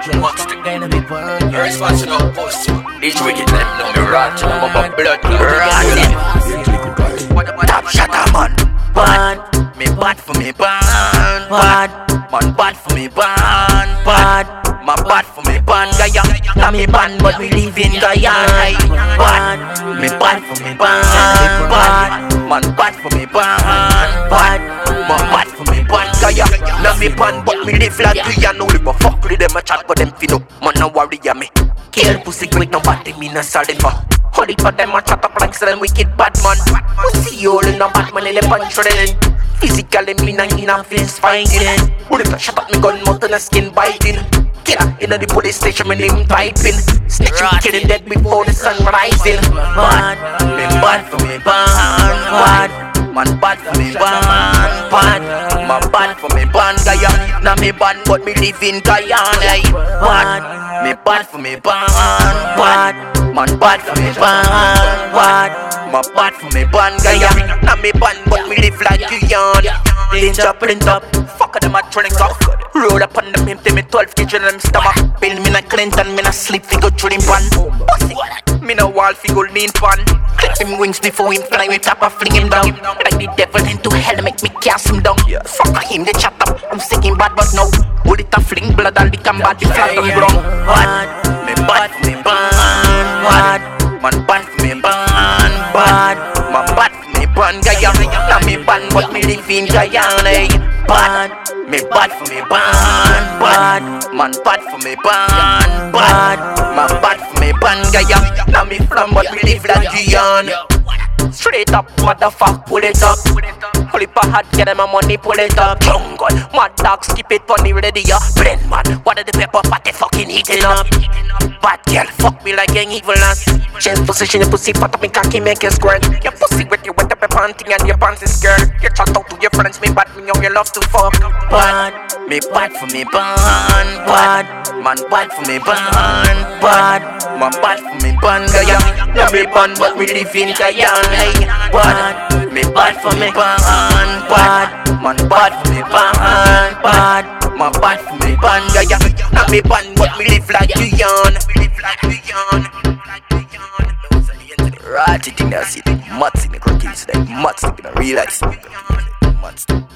monster. Response to no post. These wicked them know me rot. I'm a blood top shatter man. Bad. Me bad for me bad. Bad. Man bad for me bad. Bad. My bad for me bad. Gaya. Now me bad but we live in Gaya. Bad. Me bad for me bad. Bad. Man bad for me bad. Bad. Man bad for me bad. Gaya. Now me bad but me live like Gaya. No live a fuck with them a chat but them feel no. Man no worry ya me. Kill pussy quick nobody me no solid for. Holy for them a chat up like some wicked bad man. Pussy all in a bad man in a punch shredding. Physically me nah in a face fighting. Bullet a shot at me gun mouth and a skin biting. Killer in the police station, my name typing. Snitch me killing dead before the sun rising. Bad, me bad for me bad. Bad, man bad for me bad. Bad, man bad for me bad. Gaya, now me bad but me live in Guyana. Bad, me bad for me bad. Bad, man bad for me bad. Bad, man bad for me bad. Gaya, now me bad but me live like Guyana. Danger print up, fuck them a training up. Roll up on them empty me 12 kg in them stomach. Bill me na Clinton, me na sleep figure drilling pan. Pussy, me na wall figure lean pan. Clip him wings before him fly with top, I fling him down. Like the devil into hell, make me cast him down. Fuck him, they chat up, I'm sick him bad but no. Bullet a fling, blood all the come bad, the flat on ground. Bad, me bad for me bad. Bad, man bad for me bad. Bad, man bad for me bad. Gaya, now me bad but me live in Guyana. Bad, me bad for me bad. Bad, man bad for me bad. Bad, man bad for me bad. Gaya, now me from but me live like Guyana. Straight up, motherfucker, pull it up. Pull it hard, get them my money, pull it up. Jungle, mad dog, skip it, funny ready, ya. Blend man, what are the pepper party fucking eating up? Bad girl, fuck me like an evil ass. Change position, your pussy fat up, me cocky make you squirt. Your pussy wet, you wet up your panty and your pants is skirt. You chat out to your friends, me bad, me know you love to fuck. Bad, me bad for me bad. Bad, man bad for me bad. Bad, man bad for me bad. Gaya, now me bad, but me live in Guyana. Bad, me bad for me bad. Bad, man bad for me bad. Bad, man bad for me bad. Gaya, now me bad, but me live like Guyana. Right, you think that's it. Mats in the crockies, like mats in the real life. Mats.